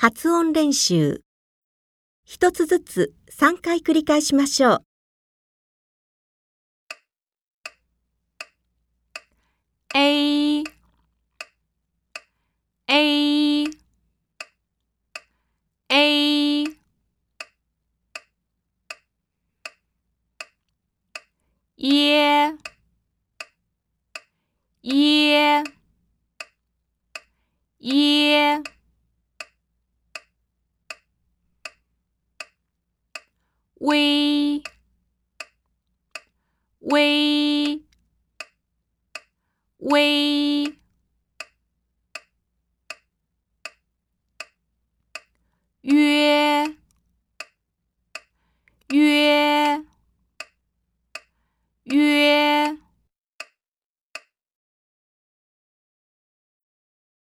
発音練習。一つずつ3回繰り返しましょう。 A A A耶耶耶微微微约